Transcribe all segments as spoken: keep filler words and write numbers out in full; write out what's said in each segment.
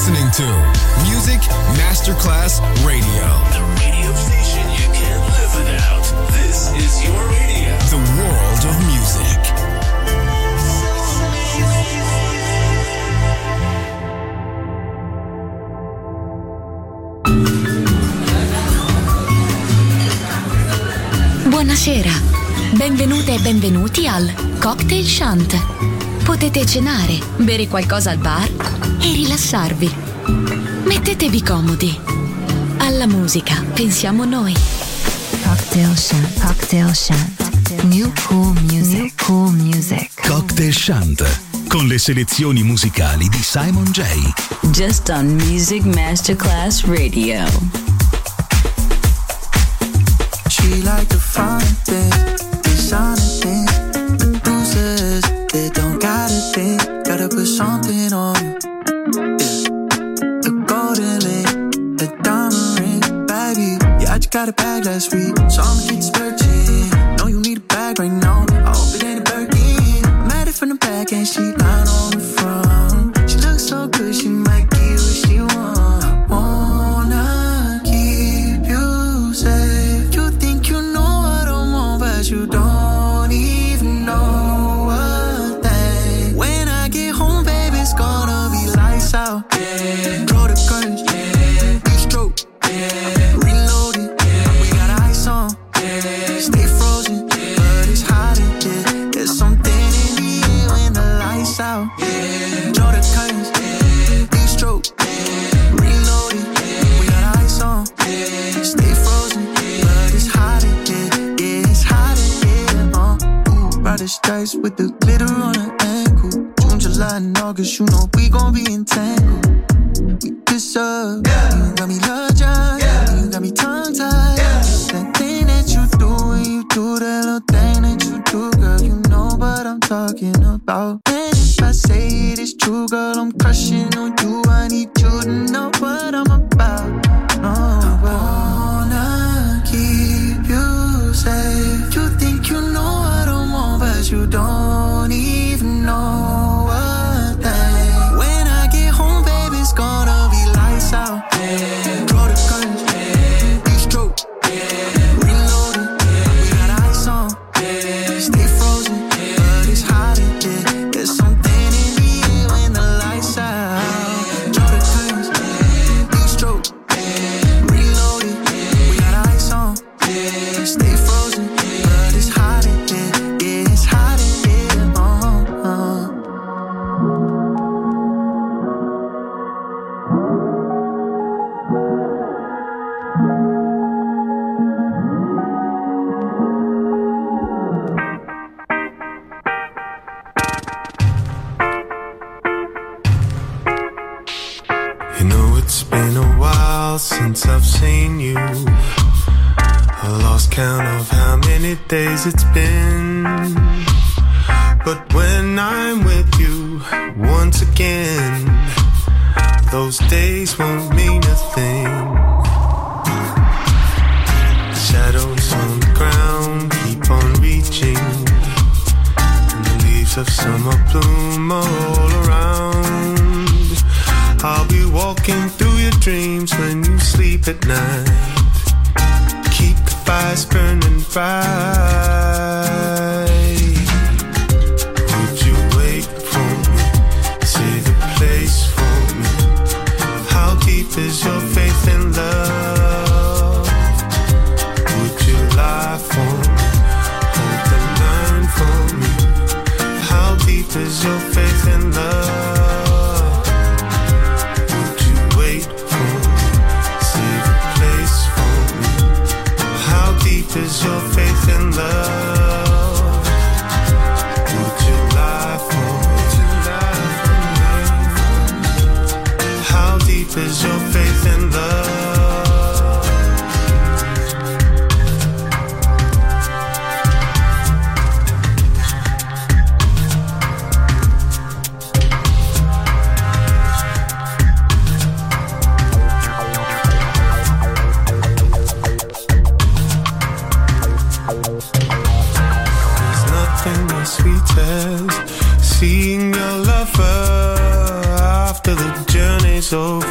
listening to Music Masterclass Radio. The radio station you can't live without. This is your radio. The world of music. Buonasera, benvenute e benvenuti al Cocktail Shant. Potete cenare, bere qualcosa al bar e rilassarvi. Mettetevi comodi. Alla musica pensiamo noi. Cocktail Shant, Cocktail Shant. New cool music, New cool music. Cocktail Shant, con le selezioni musicali di Simon J. Just on Music Masterclass Radio. She like the fine things, designer things, the bruises, they don't gotta think, gotta put something on you. Yeah. The golden link, the diamond ring, baby. Yeah, I just got a bag last week, so I'ma keep splurging. Know you need a bag right now, I hope it ain't a Birkin. I'm at it from the back and she lying on the front. She looks so good, she might give what she want. I wanna keep you safe. You don't even know a thing. When I get home, baby, it's gonna be lights out. Yeah. Draw the curtains, yeah. Deep stroke, yeah. Reload it, yeah. We got ice on, yeah. Stay frozen, yeah. But it's hot in here. There's something in the air when the lights out. Yeah. Draw the curtains, yeah. Deep stroke, yeah. Reload it, yeah. We got ice on, yeah. Stay frozen, yeah. But it's hot in here. Yeah, it's hot. Brightest dice with the glitter on her ankle. June, July, and August, you know we gon' be entangled. We kiss up, yeah. You got me love John, yeah. You got me tongue-tied, yeah. It's that thing that you do when you do that little thing that you do, girl. You know what I'm talking about. And if I say it is true, girl, I'm crushing on you. I need you to know what I'm about. No, I wanna keep you safe. You think you know what I want, but you don't even know a thing. When I get home, baby, it's gonna be lights out. Yeah. Draw the curtains, yeah. Deep stroke, yeah. Reload it, yeah. We got ice on, yeah. Stay frozen, yeah. But it's hot in here. There's something in the air when the lights out. Yeah. Draw the curtains, yeah. Deep stroke, yeah. Reload it, yeah. We got ice on, yeah. Stay frozen, yeah. But it's hot in here. Yeah, it's hot in here. Uh, uh. You know it's been a while since I've seen you. I lost count of how many days it's been. But when I'm with you once again, those days won't mean a thing. Shadows on the ground keep on reaching, and the leaves of summer bloom all around. I'll be walking through your dreams when you sleep at night. Keep the fires burning bright. Would you wait for me? Save a place for me. How deep is your faith in love? Would you lie for me? Hold the line for me. How deep is your faith in love? Is your faith in love? Would you lie for me? How deep is your faith in love? Seeing your lover after the journey's over.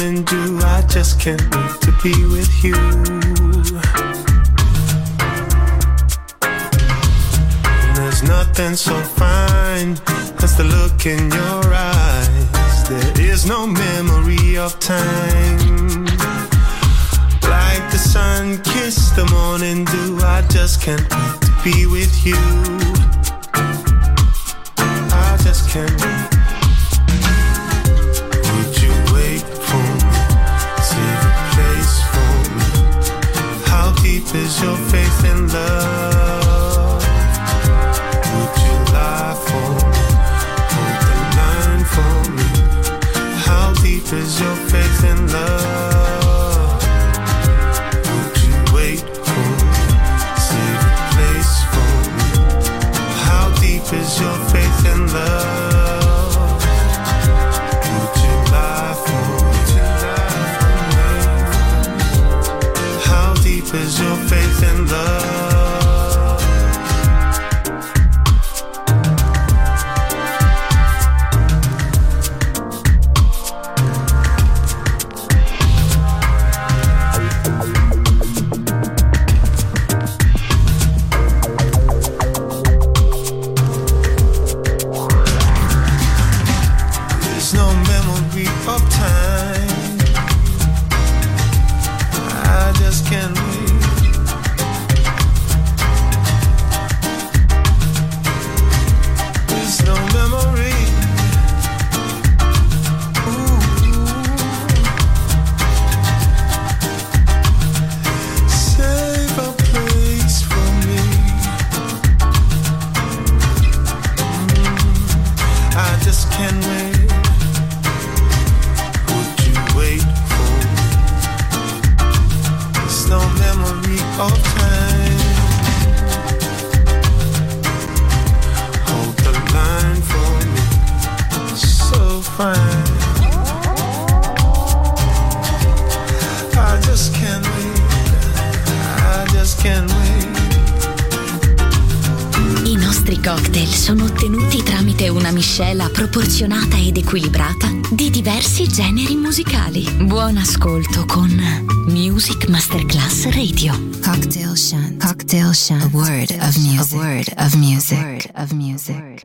morning dew. I just can't wait to be with you. And there's nothing so fine as the look in your eyes. There is no memory of time. Like the sun kissed the morning dew, I just can't wait to be with you. I just can't wait. Would you wait for me? Save a place for me. How deep is your faith in love? Would you lie for me? Hold the line for me. How deep is your faith in love? Is your faith in love? Would you lie for me? How deep is your faith in love? Sono ottenuti tramite una miscela proporzionata ed equilibrata di diversi generi musicali. Buon ascolto con Music Masterclass Radio. Cocktail Shant. Cocktail Shant. A word of music. A word of music. A word of music.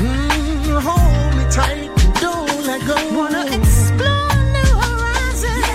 Hold me tight, don't let go. Wanna explore new horizons.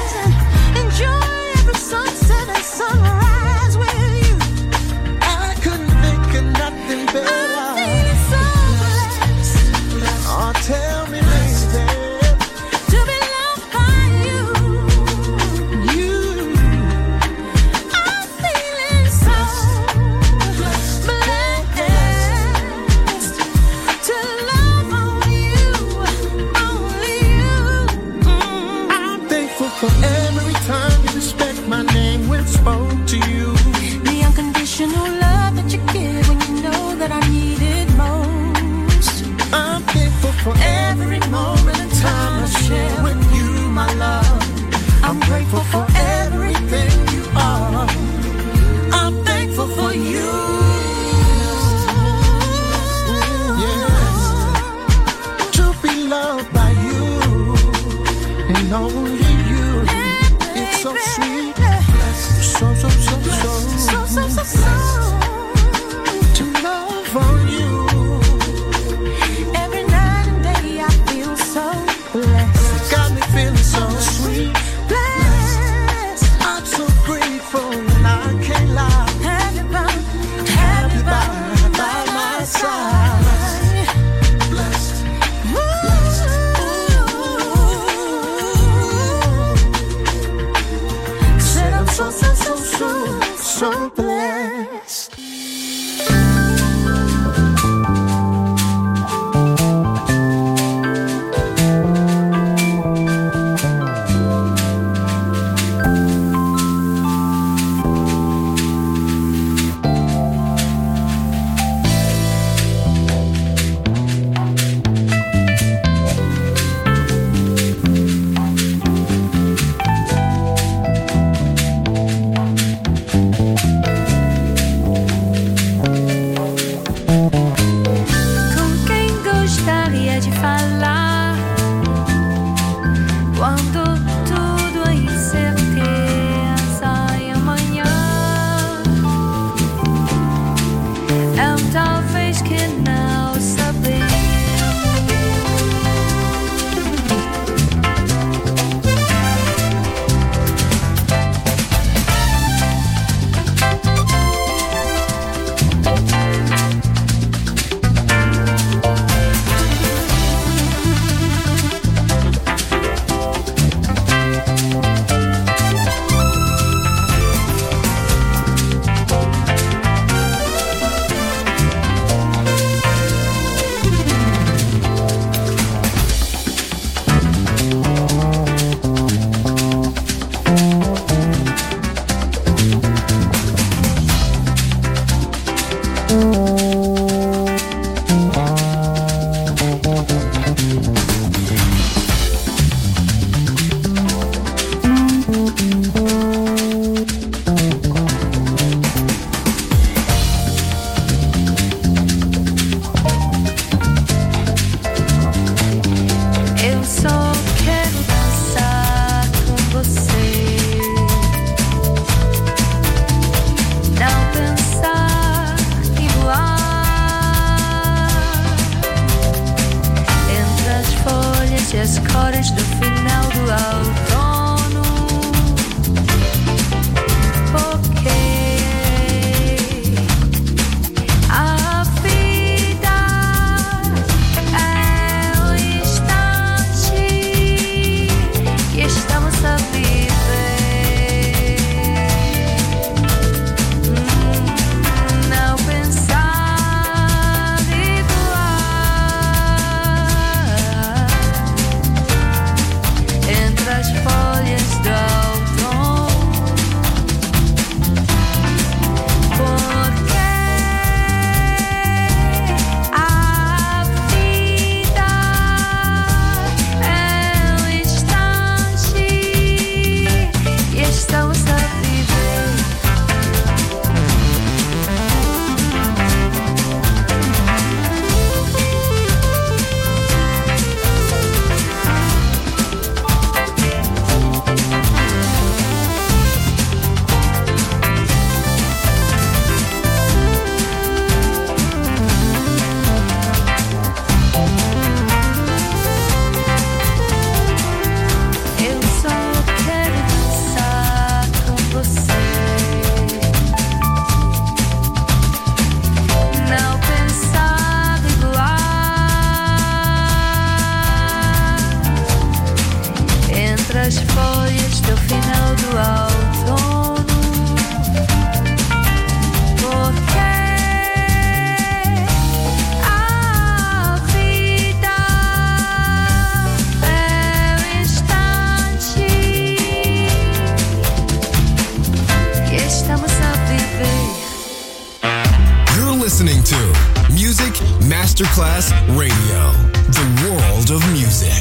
Masterclass Radio, the world of music.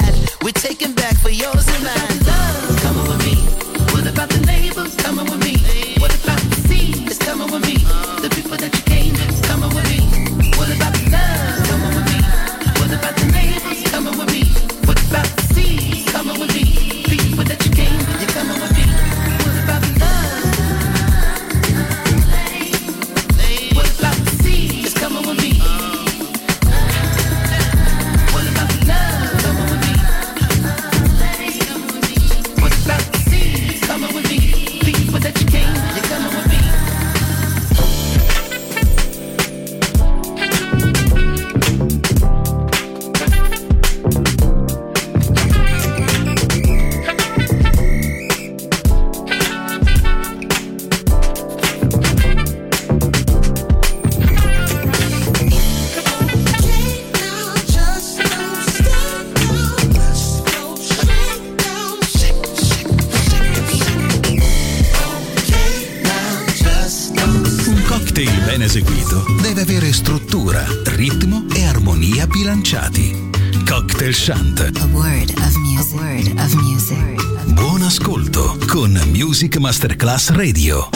Taking back for yours and mine. Come on with me. What about the neighbors? Come on with me. ben eseguito, deve avere struttura, ritmo e armonia bilanciati. Cocktail Chant. A word of music. A word of music. Buon ascolto con Music Masterclass Radio.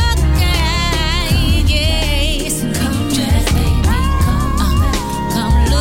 Come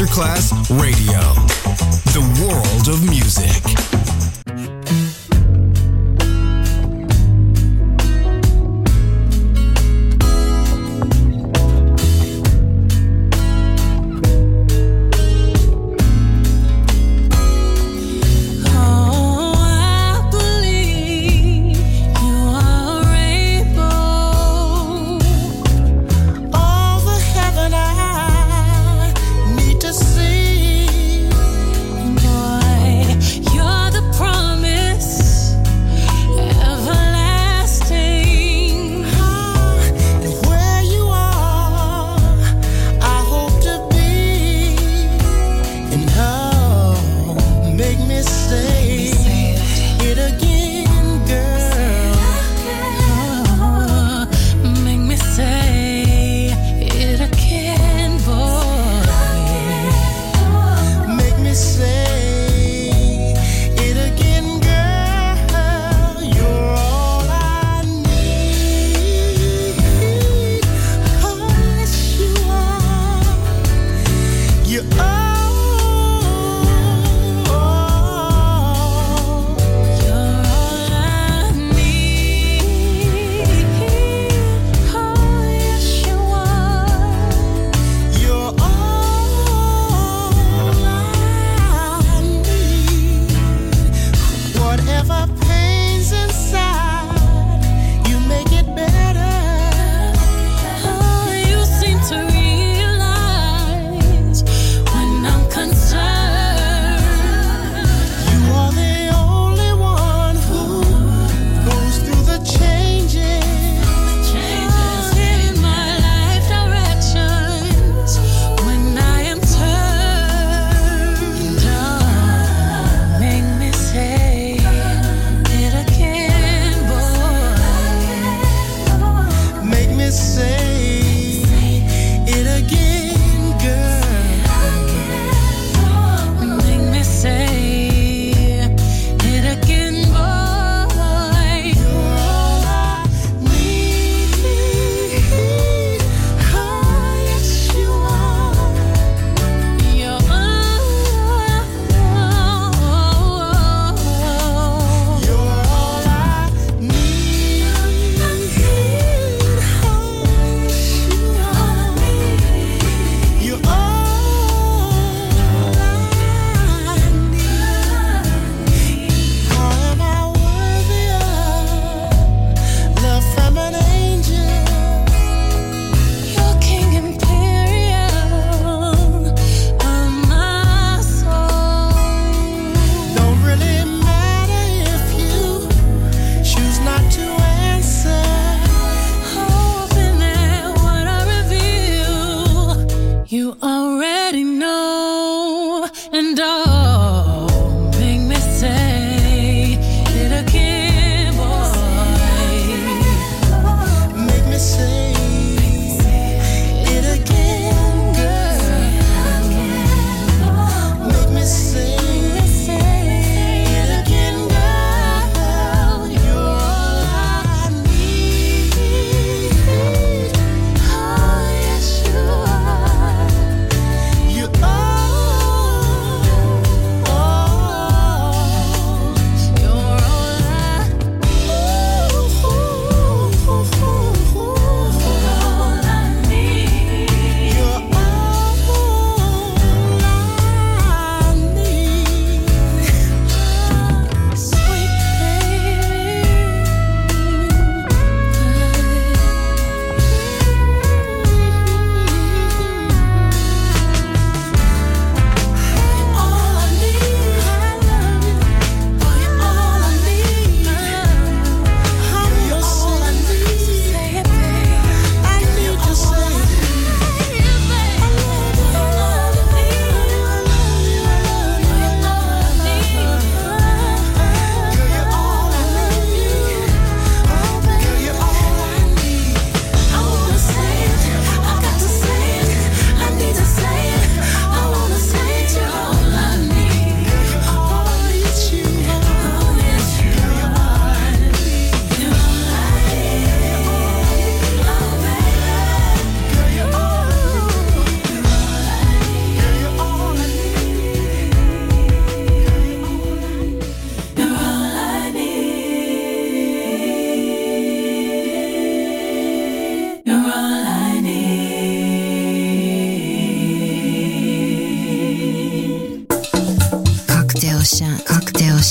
Masterclass Radio, the world of music. Over heaven I need to see.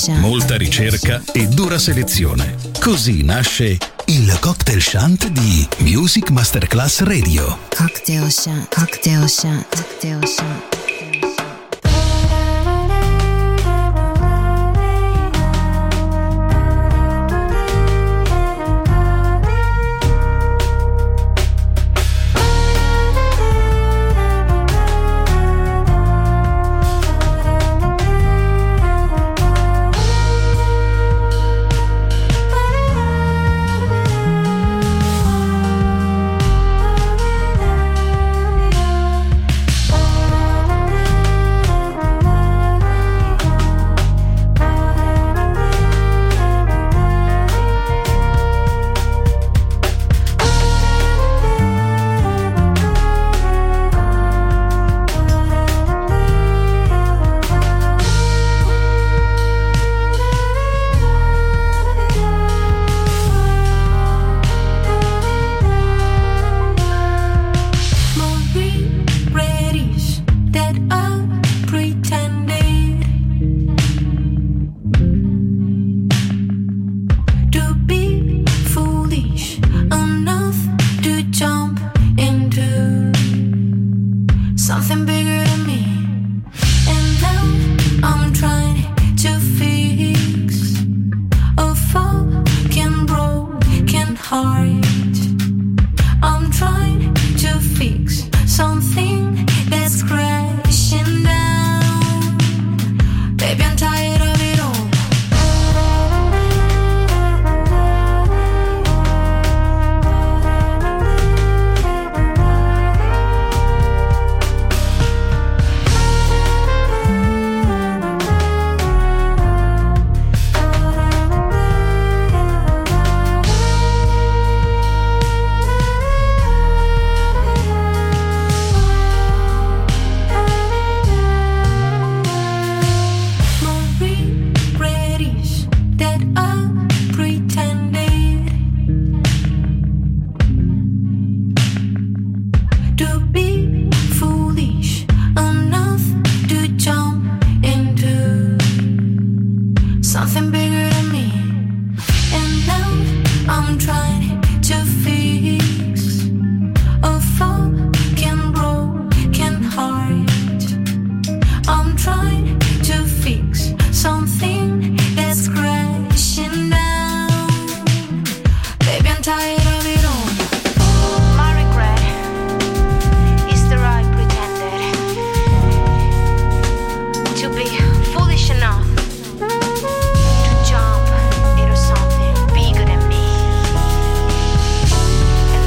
molta ricerca e dura selezione. Così nasce il Cocktail Shant di Music Masterclass Radio. Cocktail Shant, Cocktail Shant, Cocktail Shant. Into something bigger than me.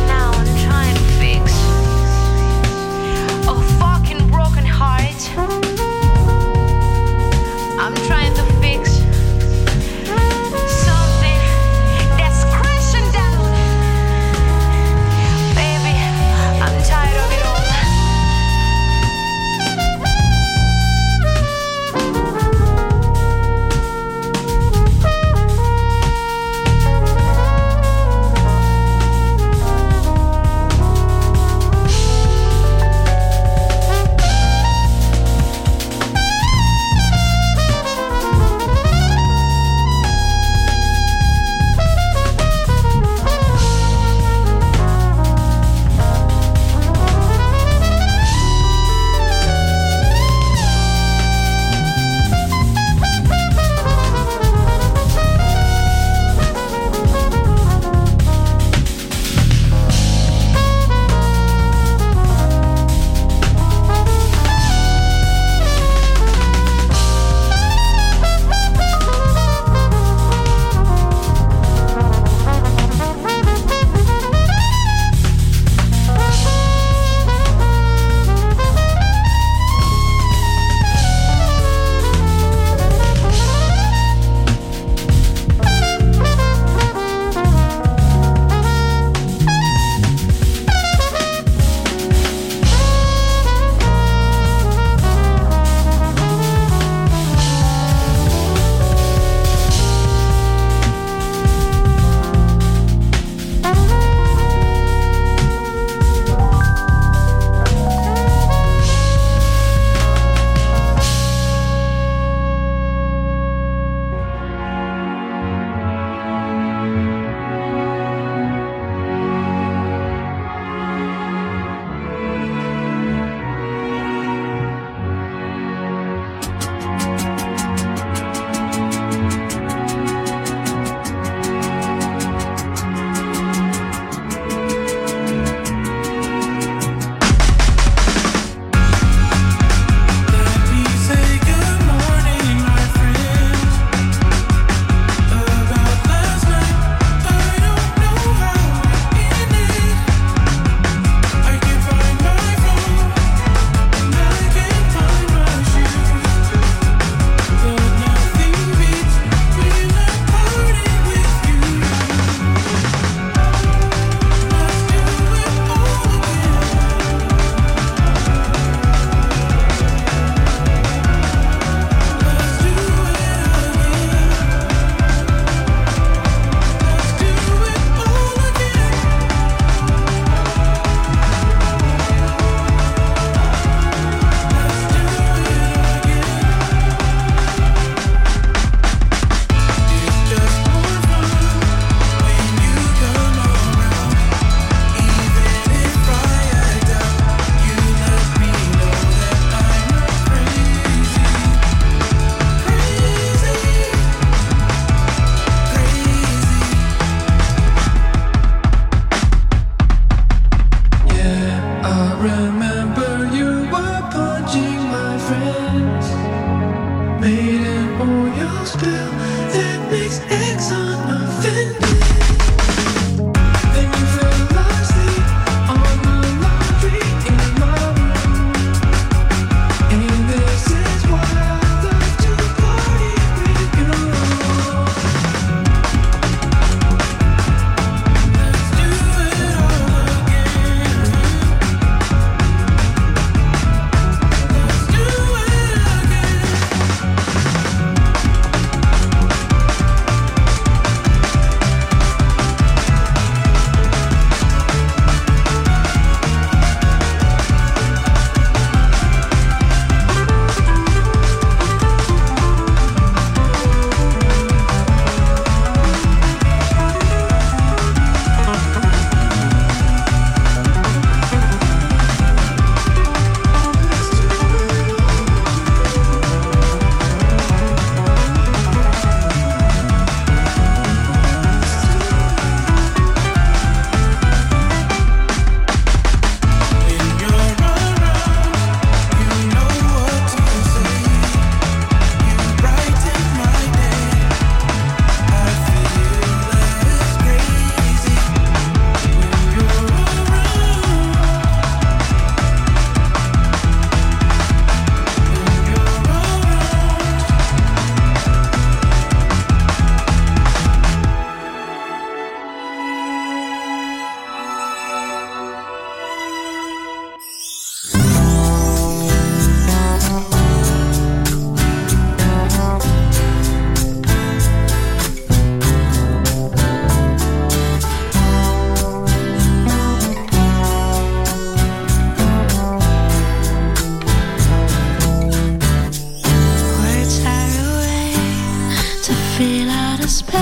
feel out of space.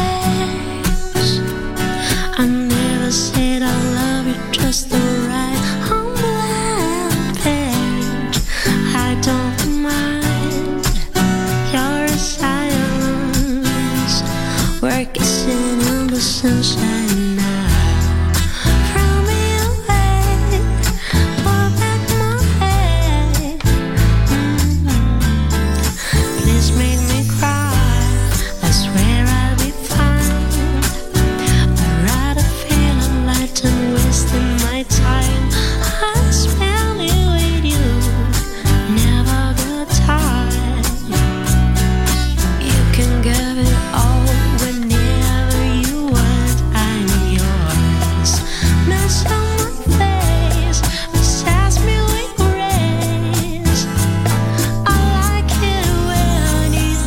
I never said I love you just the right on blank page. I don't mind your silence. We're kissing in the sunshine now. Throw me away, pull back my head. Mm-hmm. Please make me cry. I swear I'll be fine. I'd rather feel alive than wasting my time. I spend it with you, never good time. You can give it all whenever you want. I'm yours. Mess on my face, possess me with grace. I like it when it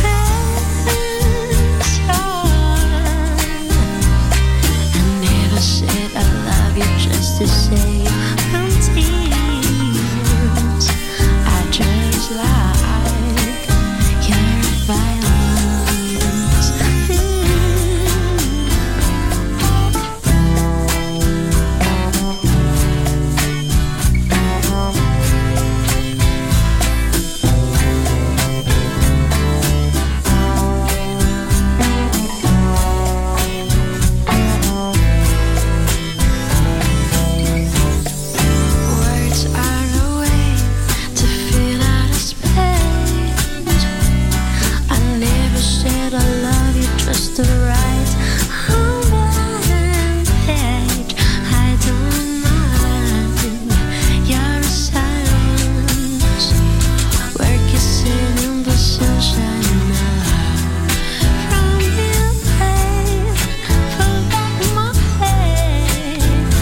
rains. I never said I love you just to save from tears. I just like your violence. Words are a way to fill out a space. I never said I love you just the right on one page. I don't mind your silence. We're kissing in the sunshine now. From your face, pull back my head.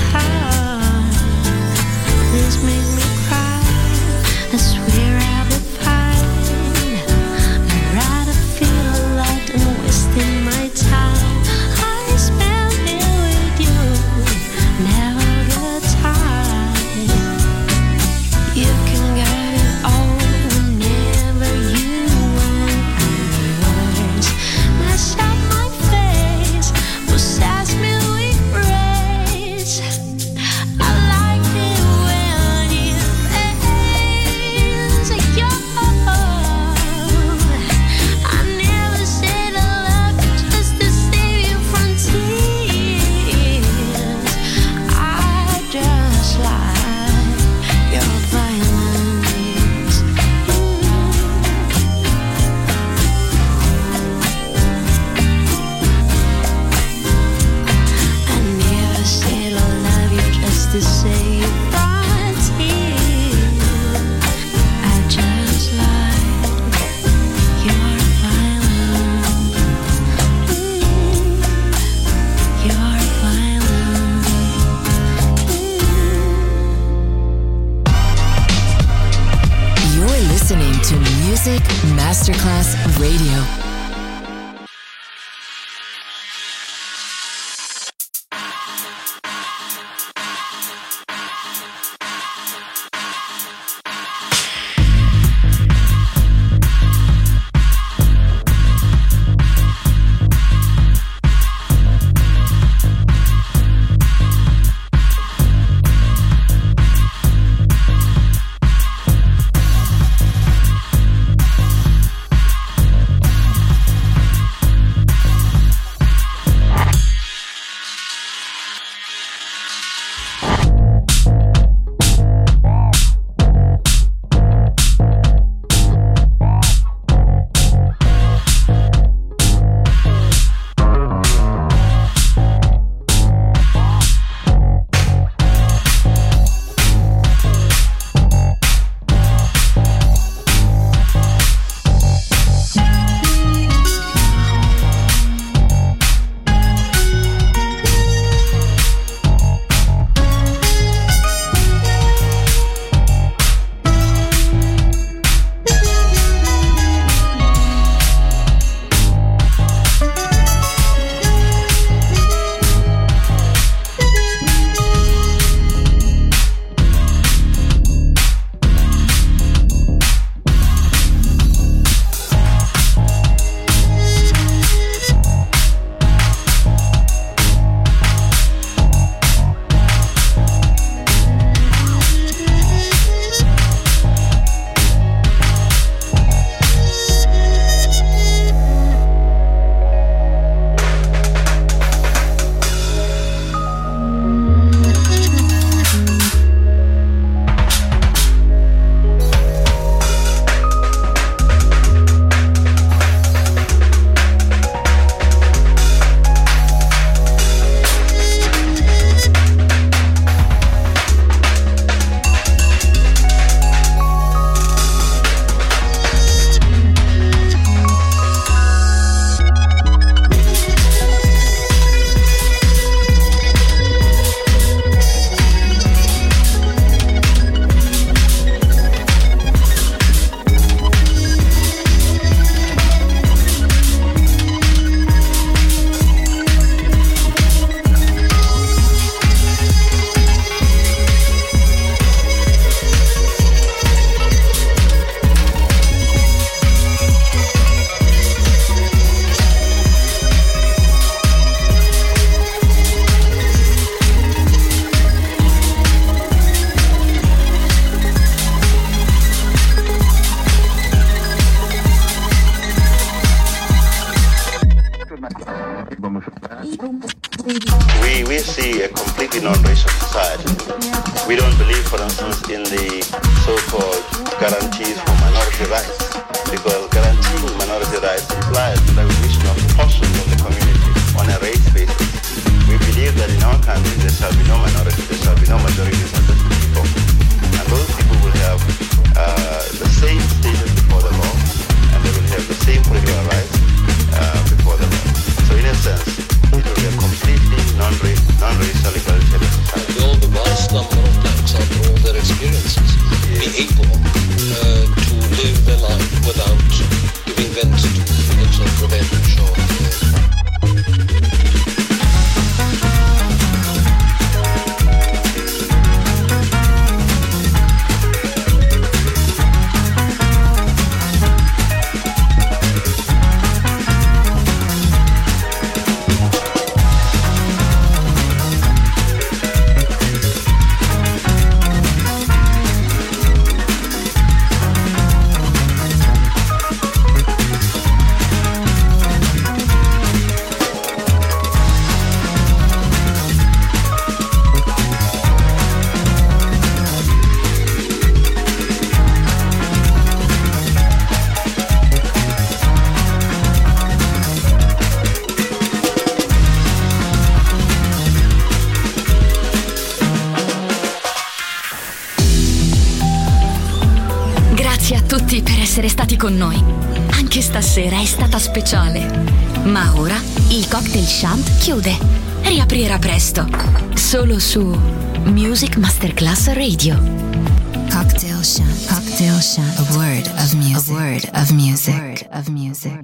Please make me cry. I swear I'll be fine. I'd rather feel alive than wasting my time. I spend it with you, never good time. You can get it all whenever you want. I'm yours. Mess up my face, possess me with grace. I like it when it rains. Yo, I never said I love you just to save you from tears. I just like your violence. I never said I love you just to save you from tears. I just like your violence. Your violence. You're listening to Music Masterclass Radio. We, we see a completely non-racial society. We don't believe, for instance, in the so-called guarantees for minority rights, because guaranteeing minority rights implies the recognition of portions of the community on a race basis. We believe that in our country there shall be no minority, there shall be no majorities of the people. And those people will have uh, the same status before the law, and they will have the same political rights uh, before the law. So in a sense, it will be a completely non-racial, non-racial egalitarian society. All the vast number of blacks, after all their experiences, be able uh, to live their life without giving vent to feelings of revenge or fear. Essere stati con noi. Anche stasera è stata speciale. Ma ora il Cocktail Shant chiude. Riaprirà presto. Solo su Music Masterclass Radio. Cocktail Shant. Cocktail Shant. A word of music. A word of music. A word of music.